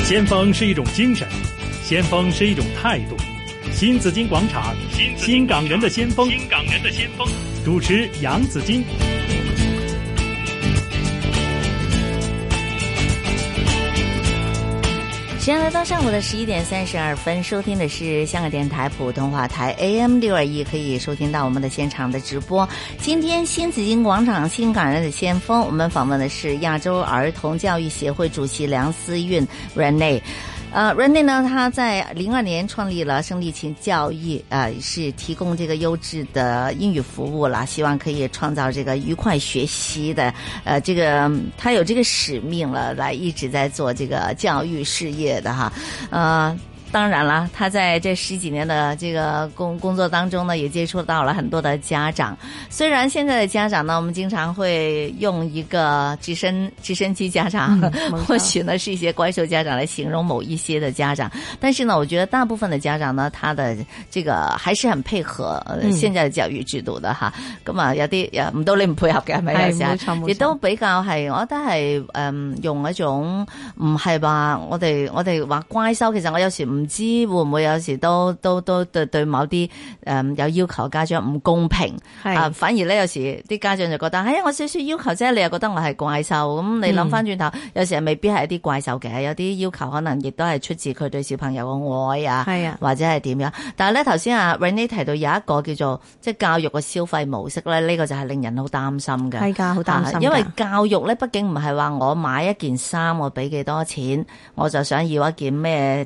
先鋒是一種精神，先鋒是一種態度。新紫荊廣場，新港人的先鋒，主持楊紫荊。 时间来到上午的11:32，收听的是香港电台普通话台 AM621，可以收听到我们的现场的直播。今天新紫荊广场新港人的先锋，我们访问的是亚洲儿童教育协会主席梁思韵 Renee。Renee 呢，他在02年创立了生力琴教育，是提供这个优质的英语服务啦，希望可以创造这个愉快学习的，这个他有这个使命了，来一直在做这个教育事业的哈，当然了，他在这10几年的这个工作当中呢，也接触到了很多的家长。虽然现在的家长呢，我们经常会用一个直升机家长，或许呢是一些怪兽家長來形容某一些的家長，但是呢，我覺得大部分的家長呢，他的這個還是很配合現在的教育制度的哈。咁啊，有啲唔到你唔配合嘅係咪？有時亦都比較係，我覺得係用一種唔係話我哋話乖收，其實我有時唔知會唔會有時都對某啲有要求家長唔公平啊，反而咧有時啲家長就覺得，我少少要求啫，你又覺得我係怪獸，咁你諗翻轉頭，有時未必係一啲怪獸嘅，有啲要求可能亦都係出自佢對小朋友嘅愛啊，或者係點樣。但係咧頭先啊 Renee 提到有一個叫做即係教育嘅消費模式咧，呢個就係令人好擔心嘅。係㗎，好擔心。因為教育咧，畢竟唔係話我買一件衫我俾幾多錢，我就想要一件咩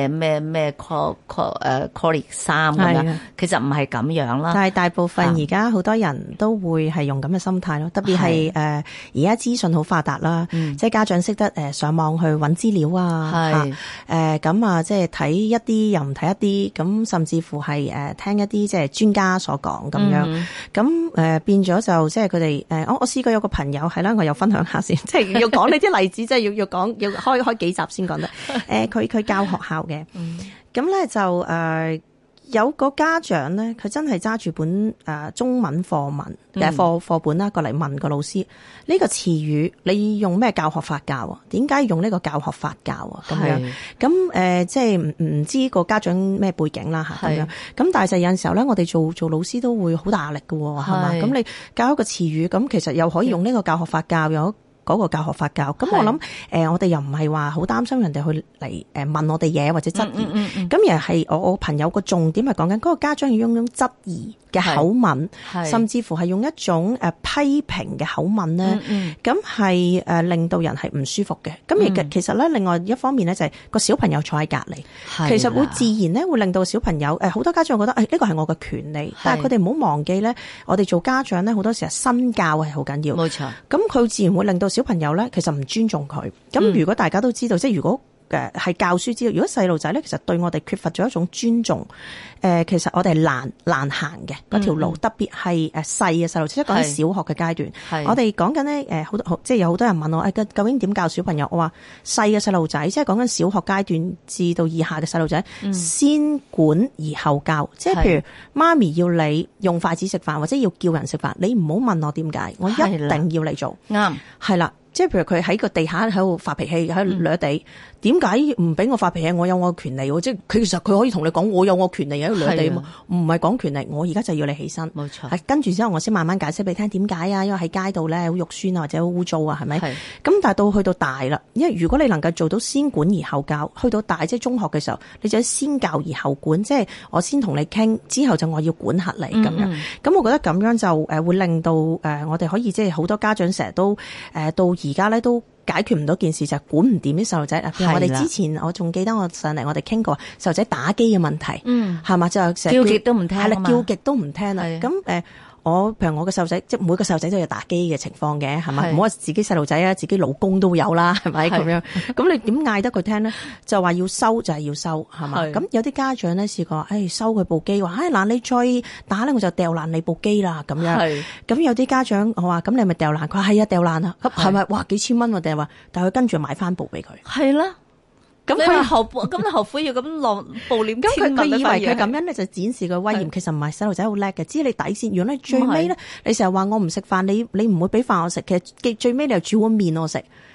quality 衫咁樣，其實唔係咁樣啦。但係大部分而家好多人都會係用咁嘅心態咯，特別係而家資訊好發達啦，即係家長識得上網去揾資料啊，咁啊即係睇一啲又唔睇一啲，咁甚至乎係聽一啲即係專家所講咁樣，咁變咗就即係佢哋我試過有個朋友係啦，我又分享下先，即係要講呢啲例子，即係要講要開幾集先講得。佢教學校嘅，咁咧就有個家長咧，佢真係揸住本中文課文課本啦，過嚟問個老師呢個詞語你用咩教學法教啊？點解用呢個教學法教啊？咁樣咁即係唔知個家長咩背景啦嚇咁樣。咁但係就有陣時候咧，我哋做老師都會好大壓力㗎喎，係嘛？咁你教一個詞語，咁其實又可以用呢個教學法教，有嗰個教學法教，咁我諗我哋又唔係話好擔心人哋去嚟問我哋嘢或者質疑，咁而係我朋友個重點係講緊嗰個家長要用質疑嘅口吻，甚至乎係用一種批評嘅口吻咧，咁係令到人係唔舒服嘅。咁而其實咧，另外一方面咧就係個小朋友坐喺隔離，其實會自然咧會令到小朋友好多家長覺得呢個係我嘅權利，但係佢哋唔好忘記咧，我哋做家長咧好多時係身教係好緊要，冇錯。咁佢自然會令到小朋友咧其實唔尊重佢。咁如果大家都知道，即係如果係教書知道，如果細路仔咧，其實對我哋缺乏咗一種尊重，其實我哋係難行嘅嗰條路，特別係細嘅細路，即係講緊小學嘅階段。我哋講緊咧即係有好多人問我究竟點教小朋友？我話細嘅細路仔，即係講緊小學階段至到以下嘅細路仔，先管而後教。即係譬如媽咪要你用筷子食飯，或者要叫人食飯，你唔好問我點解，我一定要你做。啱，係啦。即係譬如佢喺個地下喺度發脾氣，喺度掠地，點解唔俾我發脾氣？我有我嘅權利喎，即係其實佢可以同你講，我有我權利喺度掠地嘛，唔係講權利，我而家就要你起身。冇錯，係跟住之後我先慢慢解釋俾你聽點解啊，因為喺街度咧好肉酸啊，或者好污糟啊，係咪？咁但係去到大啦，因為如果你能夠做到先管而後教，去到大即係中學嘅時候，你就先教而後管，即係我先同你傾，之後就我要管轄你咁樣。咁我覺得咁樣就會令到我哋可以即係好多家長成日都到而家咧都解決唔到件事，就係管唔掂啲細路仔。譬如我哋之前我仲記得我上嚟我哋傾過細路仔打機嘅問題，係嘛，就成日叫極都唔聽，係啦，叫極都唔聽啦。咁譬如我嘅細路仔，即係每個細路仔都有打機嘅情況嘅，係咪？唔好話自己細路仔啊，自己老公都有啦，係咪咁樣？咁你點嗌得佢聽咧？就話要收就係要收，係嘛？咁有啲家長咧試過，收佢部機，話嗱你再打咧，我就掉爛你部機啦咁樣。咁有啲家長我話咁你咪掉爛，佢話係啊，掉爛啊，咁係咪？哇幾千蚊喎，定係話，但係佢跟住買翻部俾佢。係啦。咁佢後悔要咁落暴臉，咁佢以為佢咁樣咧就展示個威嚴，其實唔係，細路仔好叻嘅，知你底線。如果你最尾咧，你成日話我唔食飯，你唔會俾飯我食，其實最尾你又煮碗麵我食，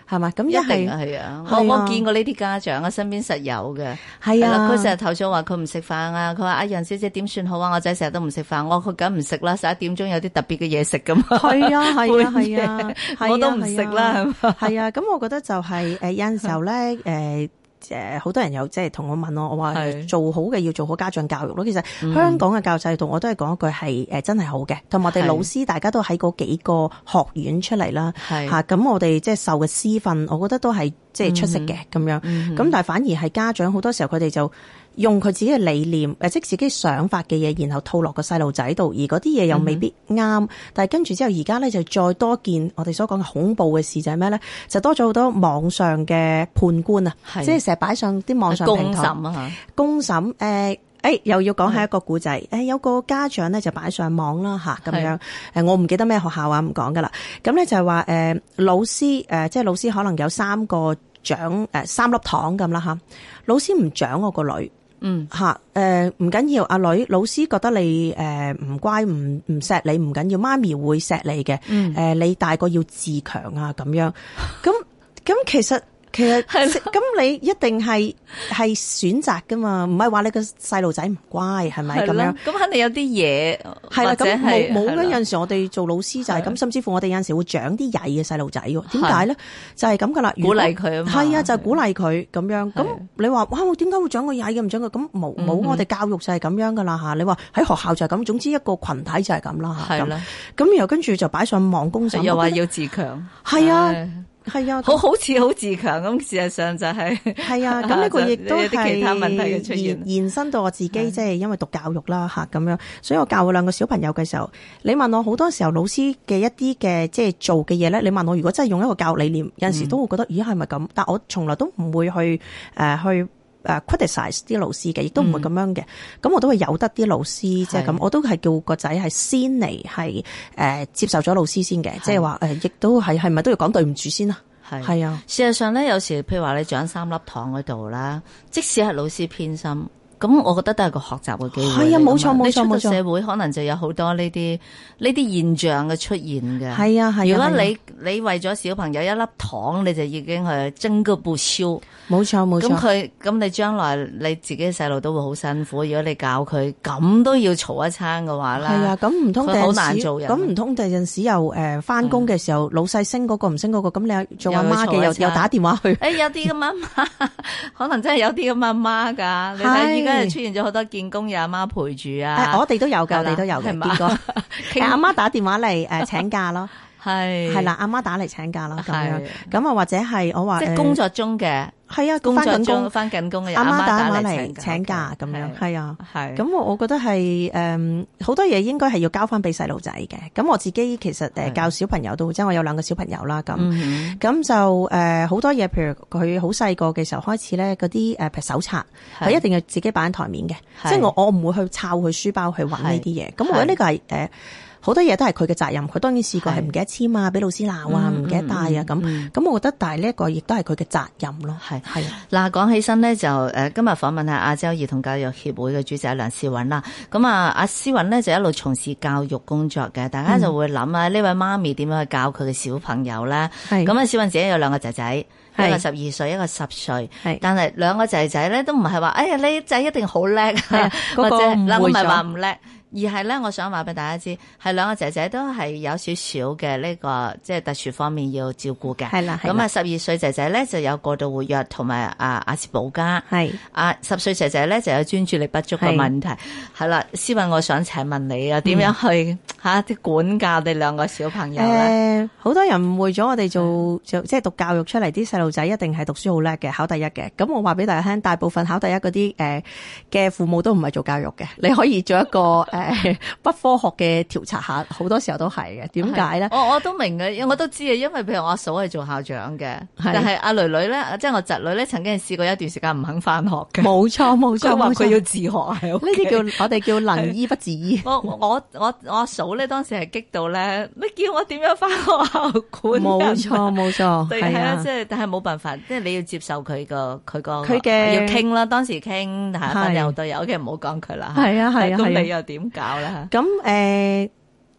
係嘛？咁一定係啊！我見過呢啲家長啊，身邊實有嘅。 係啊， 佢成日投訴話佢唔食飯啊，佢話阿楊小姐點算好啊？我仔成日都唔食飯，佢梗唔食啦，11點鐘有啲特別嘅嘢食噶嘛。 係啊係啊係啊， 我都唔食啦。 係啊，咁我覺得就係有陣時候咧好多人有即係同我問我話做好嘅要做好家長教育咯。其實香港嘅教育制度我都係講一句係真係好嘅，同埋我哋老師大家都喺嗰幾個學院出嚟啦，咁我哋即係受嘅師訓，我覺得都係即係出色嘅咁樣。咁但係反而係家長好多時候佢哋就用佢自己嘅理念，即自己想法嘅嘢，然後套落個細路仔度，而嗰啲嘢又未必啱。但係跟住之後，而家咧就再多件我哋所講嘅恐怖嘅事就係咩咧？就多咗好多網上嘅判官啊，即係成日擺上啲網上平台公審又要講係一個故仔。有個家長咧就擺上網啦咁樣。我唔記得咩學校啊，唔講噶啦。咁咧就係話老師即係老師可能有3個獎3粒糖咁啦老師唔獎我個女。唔緊要，阿女老師覺得你唔乖唔錫你唔緊要，媽咪會錫你嘅。你大個要自強啊咁樣。咁其實咁你一定係選擇噶嘛，唔係話你個細路仔唔乖係咪咁樣？咁肯定有啲嘢係啦，咁冇有陣時我哋做老師就係咁，甚至乎我哋有陣時會獎啲曳嘅細路仔喎。點解咧？就係咁噶啦， 鼓勵佢啊嘛。係啊，就係鼓勵佢咁樣。咁你話哇，點解會獎個曳嘅唔獎佢？咁冇我哋教育就係咁樣噶啦嚇。你話喺學校就係咁，總之一個群體就係咁啦嚇。係啦。咁然後跟住就擺上網公審， 又話要自強。 係啊。係啊， 好似好自強咁，事實上就係啊，咁呢個亦都有啲其他問題嘅出現， 延伸到我自己，即係因為讀教育啦咁樣，所以我教我2個小朋友嘅時候，你問我好多時候老師嘅一啲嘅即係做嘅嘢咧，你問我如果真係用一個教育理念，有陣時都會覺得咦係咪咁？但我從來都唔會去criticize 啲老師嘅，亦都唔會咁樣嘅。咁我都會由得啲老師即係咁，我都係叫個仔係先嚟係接受咗老師先嘅，即係話亦都係咪都要講對唔住先啊？係啊。 事實上咧，有時譬如話你獎3粒糖嗰度啦，即使係老師偏心。咁我覺得都係個學習嘅機會。 係啊，冇錯冇錯冇錯。 你出到社會可能就有好多呢啲現象嘅出現嘅。 係啊係啊。 如果你為咗小朋友1粒糖，你就已經係爭個不休。 冇錯冇錯。 咁你將來你自己嘅細路都會好辛苦。如果你教佢咁都要嘈一餐嘅話啦。 係啊，咁唔通佢好難做人。 咁唔通第陣時又翻工嘅時候，老細升嗰個唔升嗰個，咁你做阿媽嘅又打電話去。 有啲咁媽媽，可能真係有啲咁媽媽㗎。你睇而家出現咗好多見工有阿媽陪住啊！ 我哋都有㗎，我哋都有嘅。見過阿媽打電話嚟請假咯，係啦，阿媽打嚟請假咯咁樣。咁啊或者係我話即係工作中嘅。係啊，翻緊工嘅阿媽打嚟請假咁樣，係啊，係。咁我覺得係好多嘢應該係要交翻俾細路仔嘅。咁我自己其實教小朋友都即係我有2個小朋友啦，咁就好多嘢，譬如佢好細個嘅時候開始咧，嗰啲譬如手冊係一定要自己擺喺台面嘅，即係我唔會去抄佢書包去揾呢啲嘢。咁我覺得呢個係好多嘢都係佢嘅責任，佢當然試過係唔記得簽啊，俾老師鬧啊，唔記得帶啊咁我覺得，但係呢一個亦都係佢嘅責任咯。係嗱，講起身咧就今日訪問下亞洲兒童教育協會嘅主席梁思韻啦。咁阿思韻咧就一路從事教育工作嘅，大家就會諗啊，呢位媽咪點樣去教佢嘅小朋友咧？咁啊，思韻自己有2個仔仔，一個12歲，一個10歲。但係2個仔仔咧都唔係話，哎呀你仔一定好叻，或者嗱我唔係話唔叻。而係咧，我想話俾大家知，係2個仔仔都係有少少嘅呢個即係特殊方面要照顧嘅。係啦，咁啊12歲仔仔咧就有過度活躍同埋亞氏保加。係10歲仔仔咧就有專注力不足嘅問題。係啦，思韻，我想請問你啊，點樣去啲管教你2個小朋友咧？ 好多人誤會咗我哋做即係讀教育出嚟啲細路仔一定係讀書好叻嘅，考第一嘅。咁我話俾大家聽，大部分考第一嗰啲嘅父母都唔係做教育嘅。你可以做一個不科學嘅調查下，好多時候都係嘅。點解咧？ 我都明嘅，我都知啊。因為譬如我阿嫂係做校長嘅，但係阿女女咧，即係我侄女咧，曾經試過一段時間唔肯翻學嘅。冇錯冇錯，佢話佢要自學喺屋企。 呢啲叫我哋叫能醫不自醫。 我阿嫂咧當時係激到咧，你叫我點樣翻學校管？ 冇錯冇錯， 係啊，即係但係冇辦法，即係你要接受佢嘅要傾啦。當時傾，但係有好多嘢，OK，唔好講佢啦。 係啊係啊， 咁你又點搞咧？ 咁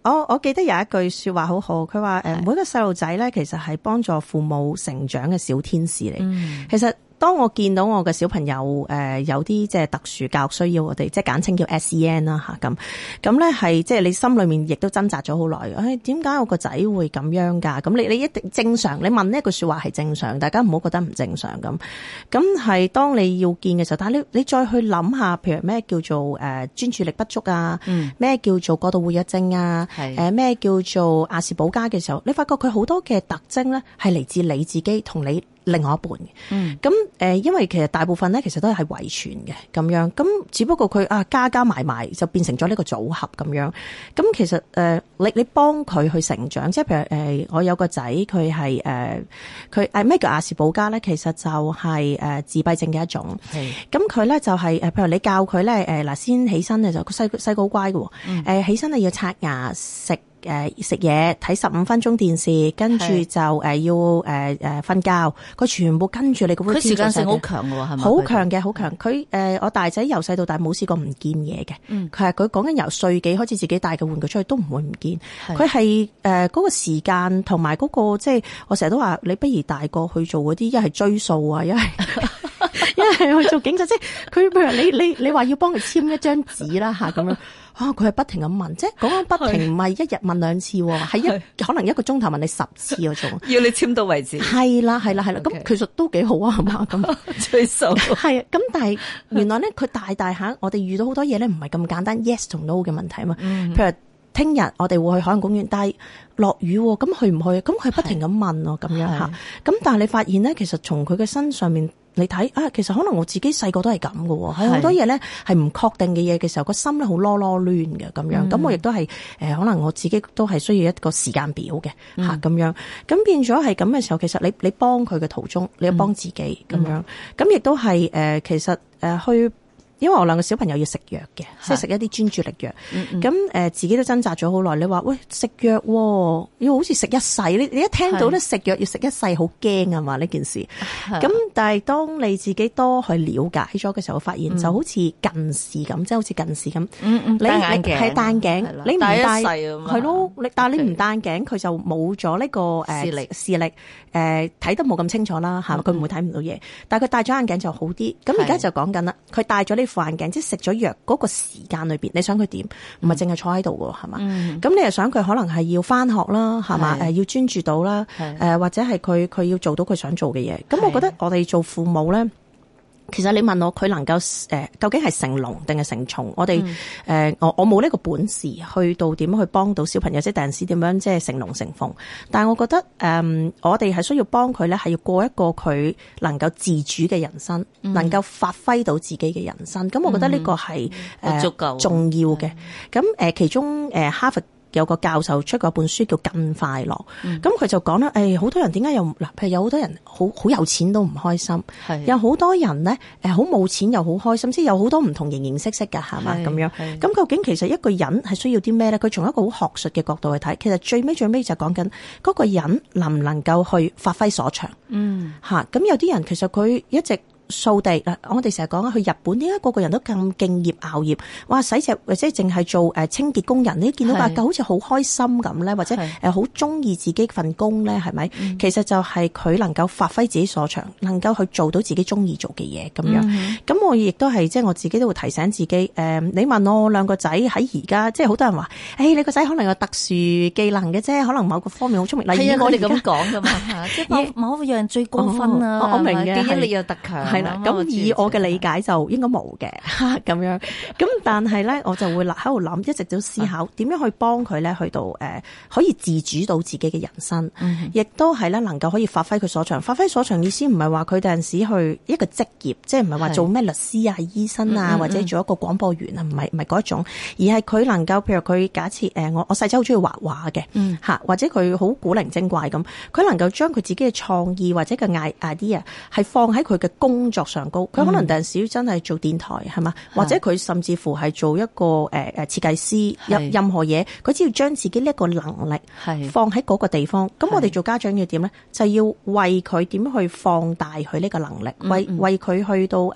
我記得有一句說話好好，佢話每個細路仔咧，其實係幫助父母成長嘅小天使嚟。其實當我見到我嘅小朋友有啲即係特殊教育需要，我哋即係簡稱叫 SEN 啦吓，咁咧係即係你心裏面亦都掙扎咗好耐。點解我個仔會咁樣㗎？咁你一定正常，你問呢一句說話係正常，大家唔好覺得唔正常咁。咁係當你要見嘅時候，但係你再去諗下，譬如咩叫做專注力不足啊，咩叫做過度活躍症啊，咩叫做亞氏保加嘅時候，你發覺佢好多嘅特徵咧係嚟自你自己同你另外一半嘅。咁因為其實大部分咧其實都係遺傳嘅咁樣，咁只不過佢加埋就變成咗呢個組合咁樣。咁其實你幫佢去成長，即係譬如我有個仔佢係佢咩叫亞氏保加咧？其實就係自閉症嘅一種。咁佢咧就係譬如你教佢咧嗱先起身咧就細個好乖嘅，起身咧要刷牙食嘢，睇15分鐘電視，跟住就要瞓覺。佢全部跟住你個 routine。佢時間性好強喎，係咪？好強嘅，好強。佢我大仔由細到大冇試過唔見嘢嘅。佢講緊由歲幾開始自己帶嘅玩具出去都唔會唔見。佢係嗰個時間同埋嗰個即係我成日都話你不如大個去做嗰啲，一係追數啊，一係去做警察。即係佢譬如你話要幫佢簽一張紙啦嚇咁樣。佢係不停咁問，即係講緊不停，唔係一日問2次，係可能1個鐘頭問你10次嗰種， 要你簽到為止。係啦，咁其實都幾好啊，係嘛咁追數。係啊，咁但係原來咧，佢大下，我哋遇到好多嘢咧，唔係咁簡單 yes 同 no 嘅問題啊嘛。譬如聽日我哋會去海洋公園，但係落雨，咁去唔去？咁佢不停咁問咯，咁樣吓。咁但係你發現咧，其實從佢嘅身上面。你睇其實可能我自己細個都係咁嘅喎，係好多嘢咧係唔確定嘅嘢嘅時候，個心咧好囉囉攣嘅咁樣。咁我亦都係可能我自己都係需要一個時間表嘅嚇咁樣。咁變咗係咁嘅時候，其實你幫佢嘅途中，你要幫自己咁樣。咁亦都係其實去。因為我兩個小朋友要食藥嘅，即係食一啲專注力藥。咁自己都掙扎咗好耐。你話喂食藥要好似食一世，你一聽到咧食藥要食一世，好驚啊嘛呢件事。咁但係當你自己多去了解咗嘅時候，發現就好似近視咁，即係好似近視咁。你戴眼鏡係戴眼鏡，你唔戴一世係咯。但係你唔戴眼鏡，佢就冇咗呢個視力睇得冇咁清楚啦嚇。佢唔會睇唔到嘢。但係佢戴咗眼鏡就好啲。咁而家就講緊啦，佢戴咗呢副眼鏡，即係食咗藥嗰個時間裏邊，你想佢點？唔係淨係坐喺度喎，係嘛？咁你又想佢可能係要翻學啦，係嘛？要專注到啦，或者係佢要做到佢想做嘅嘢。咁我覺得我哋做父母咧。其實你問我佢能夠究竟係成龍定係成蟲？我哋我冇呢個本事去到點去幫到小朋友，即係第陣時點樣即係成龍成鳳。但係我覺得我哋係需要幫佢咧，係要過一個佢能夠自主嘅人生，能夠發揮到自己嘅人生。咁我覺得呢個係足夠重要嘅。咁其中哈佛有個教授出過本書叫《更快樂》，咁佢就講啦，好多人點解又嗱？譬如有好多人好有錢都唔開心，有好多人咧好冇錢又好開心，即係有好多唔同形形色色㗎，係嘛咁樣。咁究竟其實一個人係需要啲咩咧？佢從一個好學術嘅角度去睇，其實最尾就講緊嗰個人能唔能夠去發揮所長。咁有啲人其實佢一直掃地嗱，我哋成日講去日本，點解個個人都咁敬業熬業？哇，洗隻或者淨係做清潔工人，你見到好似好開心咁咧，或者好中意自己份工咧，係咪？其實就係佢能夠發揮自己所長，能夠去做到自己中意做嘅嘢咁樣。咁我亦都係即係我自己都會提醒自己。你問我兩個仔喺而家，即係好多人話，你個仔可能有特殊技能嘅啫，可能某個方面好聰明。例如我哋咁講噶嘛，即係某一樣最高分啊，我明嘅，記憶力又特強。係啦，咁以我嘅理解就應該冇嘅咁樣。咁但係咧，我就會喺度諗，一直都思考點樣去幫佢咧，去到可以自主到自己嘅人生，亦都係咧能夠可以發揮佢所長。發揮所長意思唔係話佢第陣時去一個職業，即係唔係話做咩律師啊、醫生啊，或者做一個廣播員啊，唔係嗰一種，而係佢能夠譬如佢假設我細仔好中意畫畫嘅，或者佢好古靈精怪咁，佢能夠將佢自己嘅創意或者個 idea 係放喺佢嘅工作上高，佢可能第陣時真係做電台係嘛，或者佢甚至乎係做一個設計師，任何嘢，佢只要將自己呢一個能力放喺嗰個地方。咁我哋做家長要點咧？就要為佢點去放大佢呢個能力，為佢去到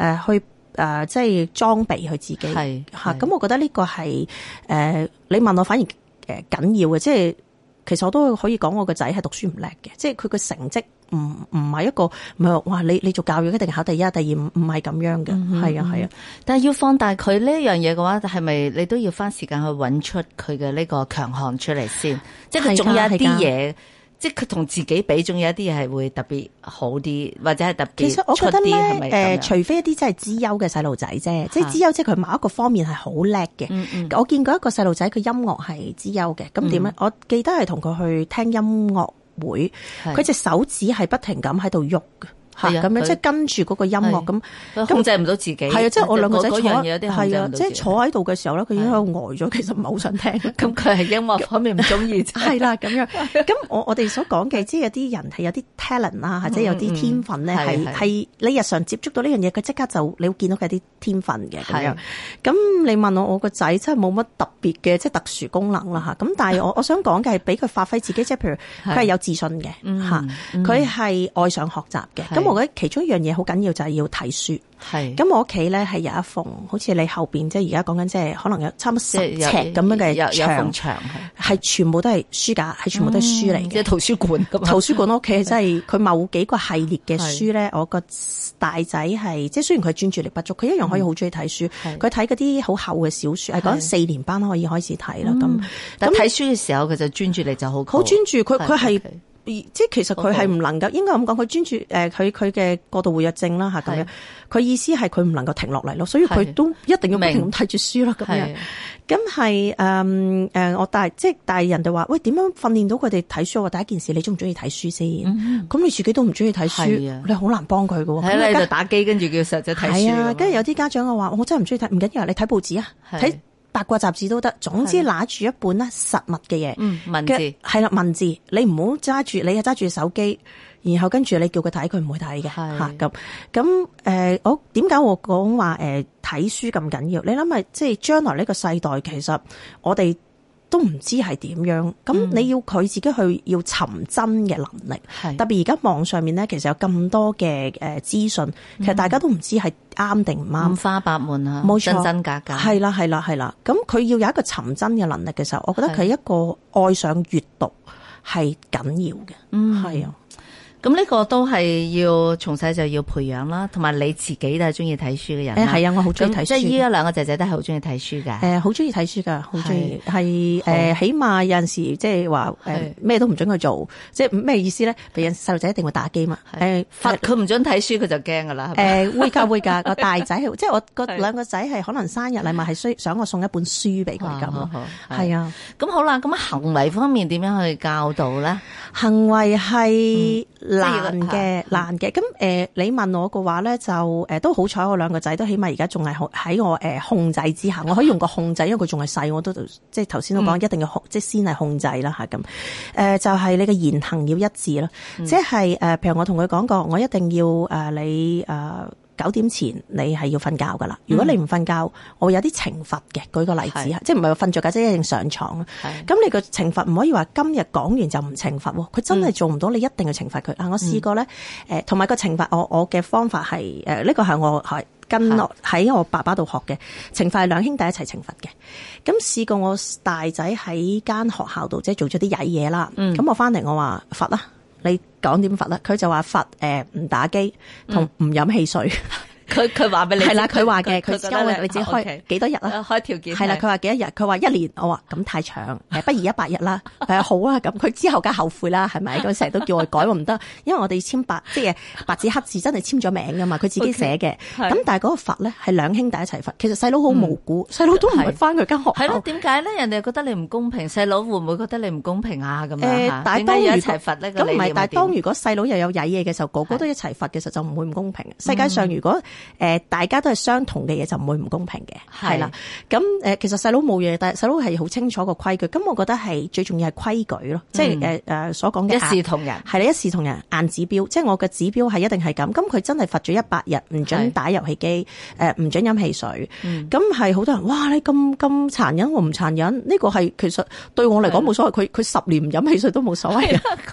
即係裝備佢自己嚇。咁我覺得呢個係你問我反而緊要嘅，即係其實我都可以講我個仔係讀書唔叻嘅，即係佢個成績唔係一個唔係話你做教育一定考第一、第二，唔係咁樣嘅，係啊係啊。 但係要放大佢呢樣嘢嘅話，係咪你都要花時間去揾出佢嘅呢個強項出嚟先？即係佢總有一啲嘢。即係佢同自己比，仲有一啲嘢係會特別好啲，或者係特別出啲。 其實我覺得咧，除非一啲真係資優嘅細路仔啫，即係資優即係佢某一個方面係好叻嘅。我見過一個細路仔，佢音樂係資優嘅，咁點咧？我記得係同佢去聽音樂會，佢隻手指係不停咁喺度喐嘅。係咁樣，即係跟住嗰個音樂咁， 控制唔到自己。係啊，即係我兩個仔坐， 係啊，即係坐喺度嘅時候咧，佢已經喺度呆咗，其實唔係好想聽。 咁佢係音樂方面唔中意。 係啦，咁樣。咁我哋所講嘅，即係有啲人係有啲 talent 啦，或者有啲天分咧，係你日常接觸到呢樣嘢，佢即刻就你會見到佢有啲天分嘅咁樣。咁你問我個仔真係冇乜特別嘅即係特殊功能啦嚇。咁但係我想講嘅係俾佢發揮自己，即係譬如佢係有自信嘅嚇，佢係愛上學習嘅。我覺得其中一樣嘢好緊要就係要睇書。係。咁我屋企咧係有一縫，好似你後邊即係而家講緊即係可能有差唔多10尺咁樣嘅牆，係全部都係書架，係全部都係書嚟嘅。 即係圖書館咁。 圖書館屋企真係佢某幾個系列嘅書咧，我個大仔係即係雖然佢專注力不足，佢一樣可以好中意睇書。佢睇嗰啲好厚嘅小說，係講4年班可以開始睇啦。咁但睇書嘅時候，佢就專注力就好專注。佢係。即係其實佢係唔能夠，應該咁講，佢專注佢嘅過度活躍症啦嚇咁樣。佢意思係佢唔能夠停落嚟咯，所以佢都一定要不停咁睇住書啦咁樣。咁係我即係人哋話喂，點樣訓練到佢哋睇書？我第一件事，你中唔中意睇書先？咁你自己都唔中意睇書，你好難幫佢㗎喎。 喺你度打機，跟住叫細仔睇書。係啊， 跟住有啲家長嘅話，我真係唔中意睇，唔緊要，你睇報紙啊，睇八卦雜誌都得，總之拿住一本咧實物嘅嘢， 文字係啦，文字你唔好揸住，你係揸住手機，然後跟住你叫佢睇，佢唔會睇嘅吓咁。我點解我講話睇書咁緊要？你諗下，即係將來呢個世代，其實我哋都唔知係點樣，咁你要佢自己去要尋真嘅能力，特別而家網上面咧，其實有咁多嘅資訊，其實大家都唔知係啱定唔啱， 五花八門啊， 冇錯， 真真假假， 係啦，咁佢要有一個尋真嘅能力嘅時候，我覺得佢一個愛上閱讀係緊要嘅，係啊。 咁呢個都係要從細就要培養啦，同埋你自己都係中意睇書嘅人。 係啊，我好中意睇書。 即係依家兩個仔仔都係好中意睇書㗎。 好中意睇書㗎，好中意。係起碼有陣時即係話咩都唔准佢做，即係咩意思咧？譬如細路仔一定會打機嘛。 罰佢唔准睇書，佢就驚㗎啦。 會㗎。個大仔即係我個兩個仔係可能生日禮物係想我送一本書俾佢咁咯。係啊。咁好啦，咁行為方面點樣去教導咧？ 行為係難嘅。咁你問我嘅話咧，就都好彩，我兩個仔都起碼而家仲係喺我控制之下，我可以用個控制，因為佢仲係細，我都即係頭先都講一定要即係先係控制啦嚇咁。就係你嘅言行要一致咯，即係譬如我同佢講過，我一定要你9點前你係要瞓覺噶啦，如果你唔瞓覺，我會有啲懲罰嘅。舉個例子，即係唔係話瞓着覺即係一定上床。咁你個懲罰唔可以話今日講完就唔懲罰喎，佢真係做唔到，你一定要懲罰佢。我試過咧，同埋個懲罰，我嘅方法係呢個係我係跟落喺我爸爸度學嘅懲罰，係兩兄弟一齊懲罰嘅。咁試過我大仔喺間學校度即係做咗啲曳嘢啦，咁我翻嚟我話罰啦。你講點罰啦？佢就話罰唔打機同唔飲汽水。 佢話俾你係啦， 佢話嘅，佢教你自己開幾多日啊？ 開條件係啦，佢話幾多日？佢話1年。我話咁太長，不如100日啦。好啊，咁佢之後梗係後悔啦，係咪？咁成日都叫我改，我唔得，因為我哋簽即係白紙黑字，真係簽咗名噶嘛，佢自己寫嘅。咁但係嗰個罰咧係兩兄弟一齊罰，其實細佬好無辜，細佬都唔係翻佢間學校。 係咯，點解咧？人哋覺得你唔公平，細佬會唔會覺得你唔公平啊？咁樣點解要一齊罰咧？ 咁唔係，但係當如果細佬又有曳嘢嘅時候，個個都一齊罰嘅時候，就唔會唔公平。世界上如果大家都係相同嘅嘢，就唔會唔公平嘅，係啦。咁其實細佬冇嘢，但係細佬係好清楚個規矩。咁我覺得係最重要係規矩咯，即係所講嘅一視同仁。係啦，一視同仁，硬指標，即係我嘅指標係一定係咁。咁佢真係罰咗100日，唔准打遊戲機，唔准飲汽水。咁係好多人，哇！你咁殘忍，我唔殘忍。呢個係其實對我嚟講冇所謂。佢10年唔飲汽水都冇所謂。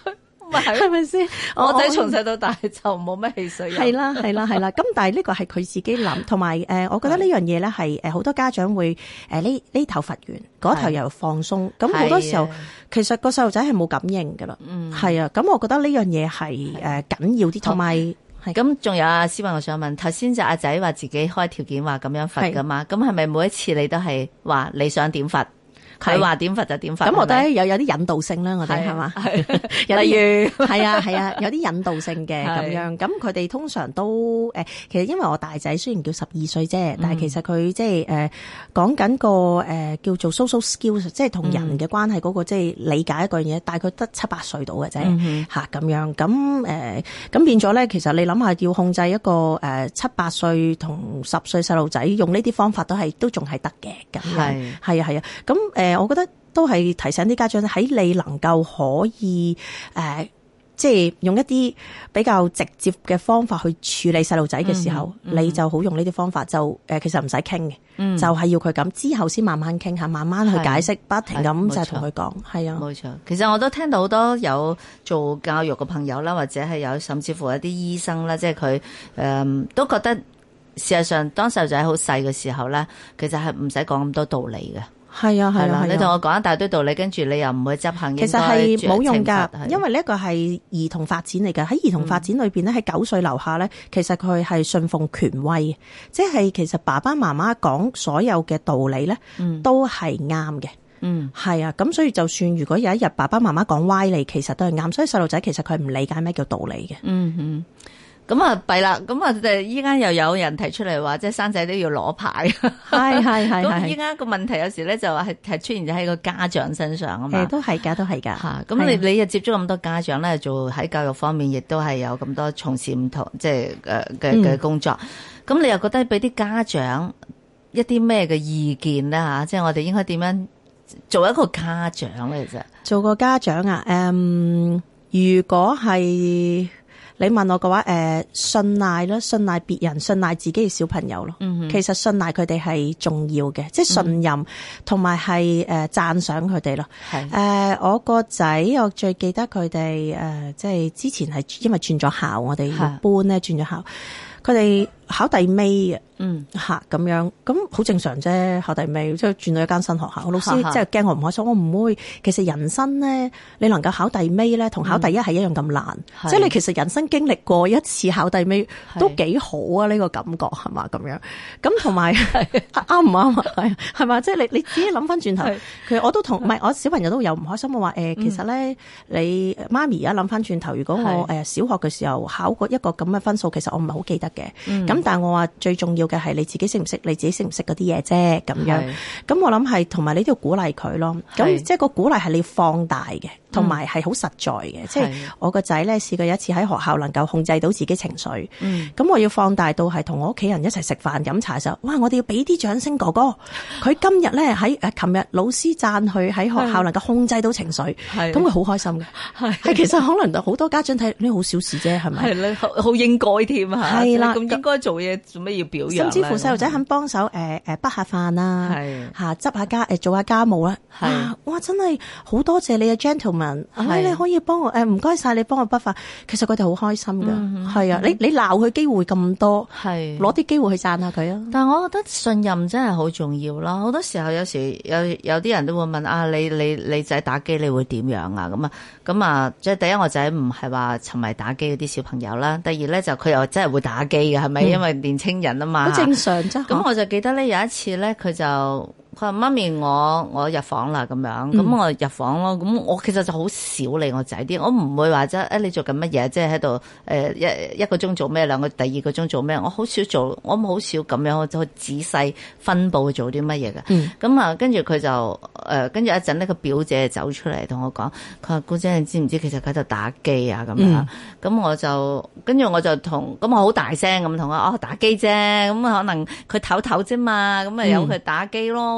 係咪先？ 我仔從細到大就冇乜汽水飲。 係啦。咁但係呢個係佢自己諗，同埋我覺得呢樣嘢咧係好多家長會呢頭罰完，嗰頭又放鬆。咁好多時候其實個細路仔係冇感應㗎啦。係啊。咁我覺得呢樣嘢係緊要啲，同埋咁仲有阿思慧，我想問頭先就阿仔話自己開條件話咁樣罰㗎嘛？咁係咪每一次你都係話你想點罰？佢話點罰就點罰， 咁我覺得有啲引導性啦，我哋係嘛，例如係啊，有啲引導性嘅咁樣。咁佢哋通常都其實因為我大仔雖然叫12歲啫，但係其實佢即係講緊個叫做 social skills， 即係同人嘅關係嗰個即係理解一個嘢，大概得7-8歲到嘅啫嚇咁樣。咁變咗咧，其實你諗下要控制一個7-8歲同10歲細路仔用呢啲方法都仲係得嘅咁樣。係啊。咁我覺得都係提醒啲家長喺你能夠可以即係用一啲比較直接嘅方法去處理細路仔嘅時候，你就好用呢啲方法，就其實唔使傾嘅，就係要佢咁之後先慢慢傾下，慢慢去解釋，不停咁就同佢講。係啊， 冇錯。其實我都聽到好多有做教育嘅朋友啦，或者係有甚至乎一啲醫生啦，即係佢都覺得事實上當細路仔好細嘅時候咧，其實係唔使講咁多道理嘅。 係啊， 你同我講一大堆道理，跟住你又唔會執行， 其實係冇用㗎，因為呢一個係兒童發展嚟㗎。喺兒童發展裏邊咧，喺9歲樓下咧，其實佢係信奉權威，即係其實爸爸媽媽講所有嘅道理咧，都係啱嘅。係啊，咁所以就算如果有一日爸爸媽媽講歪理，其實都係啱。所以細路仔其實佢唔理解咩叫道理嘅。 咁啊弊啦，咁啊依家又有人提出嚟話，即係生仔都要攞牌。 係。 咁依家個問題有時咧就話係出現咗喺個家長身上啊嘛。 都係㗎。 嚇，咁你又接觸咁多家長咧，做喺教育方面亦都係有咁多從事唔同即係嘅工作。咁你又覺得俾啲家長一啲咩嘅意見咧嚇？即係我哋應該點樣做一個家長咧？其實做個家長啊， 如果係你問我嘅話，信賴啦，信賴別人，信賴自己嘅小朋友咯。其實信賴佢哋係重要嘅，即係信任同埋係讚賞佢哋咯。我個仔，我最記得佢哋即係之前係因為轉咗校，我哋要搬咧，轉咗校，佢哋考第尾嘅。咁樣，咁好正常啫。考第尾即係轉到一間新學校，老師即係驚我唔開心，我唔會。其實人生咧，你能夠考第尾咧，同考第一係一樣咁難。即係你其實人生經歷過一次考第尾都幾好啊！呢個感覺係嘛咁樣。咁同埋啱唔啱啊？係嘛？即係你自己諗翻轉頭，其實我都同唔係我小朋友都有唔開心。我話其實咧，你媽咪而家諗翻轉頭，如果我小學嘅時候考過一個咁嘅分數，其實我唔係好記得嘅。咁但係我話最重要嘅係你自己識唔識，你自己識唔識嗰啲嘢啫咁樣。咁我諗係同埋你都要鼓勵佢咯。咁即係個鼓勵係你放大嘅，同埋係好實在嘅。即係我個仔咧試過一次喺學校能夠控制到自己情緒。咁我要放大到係同我屋企人一齊食飯飲茶嘅時候，哇！我哋要俾啲掌聲哥哥。佢今日咧喺琴日老師讚佢喺學校能夠控制到情緒，咁佢好開心嘅。係其實可能好多家長睇呢好小事啫，係咪？ 係咧，好應該添嚇。係啦，咁應該做嘢做咩要表揚？ 甚至乎細路仔肯幫手筆下飯啦，執下家做下家務啦。哇！真係好多謝你啊 gentleman，你可以幫我唔該晒你幫我筆飯。其實佢哋好開心㗎。係啊，你鬧佢機會咁多，攞啲機會去讚下佢啊。 但係我覺得信任真係好重要啦。好多時候有時有啲人都會問啊，你仔打機你會點樣啊？咁啊，即係第一我仔唔係話沉迷打機嗰啲小朋友啦。第二咧就佢又真係會打機嘅，係咪？因為年青人啊嘛。 好正常啫。 咁我就記得咧有一次咧，佢話媽咪我入房啦咁樣，咁我入房咯。咁我其實就好少理我仔啲，我唔會話你做緊乜嘢，即係喺度一個鐘做咩，第二個鐘做咩，我好少做，我好少咁樣我就仔細分佈做啲乜嘢嘅。咁啊，跟住佢就跟住一陣呢個表姐走出嚟同我講，佢話姑姐你知唔知其實佢喺度打機啊咁樣。咁跟住我就咁我好大聲咁同佢打機啫，咁可能佢唞唞啫嘛，咁咪由佢打機咯。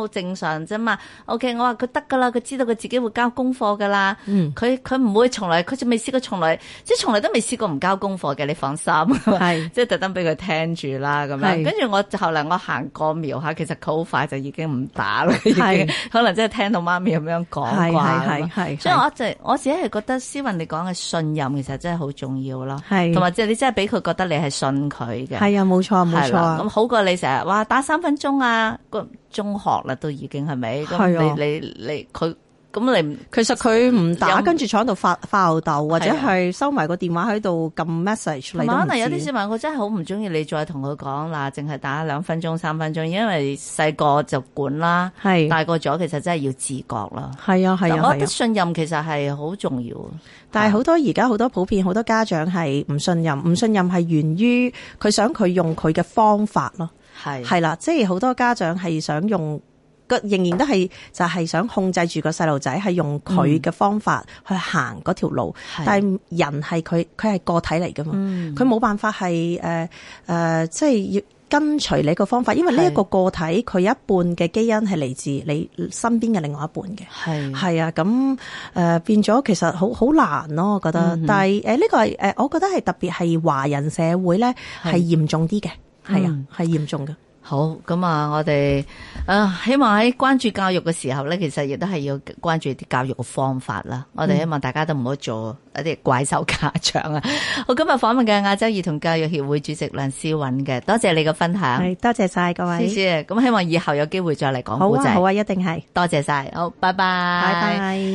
正常啫嘛。OK， 我話佢得噶啦，佢知道佢自己會交功課噶啦。佢唔會佢就未試過從來都未試過唔交功課嘅，你放心。係，即係特登俾佢聽住啦咁樣。跟住後嚟我行過瞄下，其實佢好快就已經唔打啦，已經可能真係聽到媽咪咁樣講啩。係，所以我自己係覺得思雲你講嘅信任其實真係好重要咯。係，同埋即係你真係俾佢覺得你係信佢嘅。係啊，冇錯冇錯。咁好過你成日話打3分鐘啊，個中學啦都已經係咪？咁你佢。咁你其實佢唔打，跟住坐喺度發吽哣，或者係收埋個電話喺度撳 message 嚟。可能有啲小朋友佢真係好唔中意你再同佢講嗱，淨係打2分鐘、3分鐘，因為細個就管啦，大個咗其實真係要自覺啦。係啊係啊，我覺得信任其實係好重要。但係而家好多普遍好多家長係唔信任，唔信任係源於佢想佢用佢嘅方法咯。係啦，即係好多家長係想用。仍然都係就係想控制住個細路仔，係用佢嘅方法去行嗰條路。但係人係佢係個體嚟噶嘛，佢冇辦法係即係要跟隨你個方法，因為呢一個個體佢有一半嘅基因係嚟自你身邊嘅另外一半嘅。係啊，咁變咗其實好難咯，我覺得。但係呢個係我覺得係特別係華人社會咧係嚴重啲嘅，係啊，係嚴重嘅。好，咁啊，我哋希望喺關注教育嘅時候咧，其實亦都係要關注啲教育嘅方法啦。我哋希望大家都唔好做一啲怪獸家長啊。好，今日訪問嘅亞洲兒童教育協會主席梁思韻嘅，多謝你嘅分享。係，多謝晒各位。謝謝。咁希望以後有機會再嚟講古仔。好啊，好啊，一定係。多謝晒。好，拜拜。拜拜。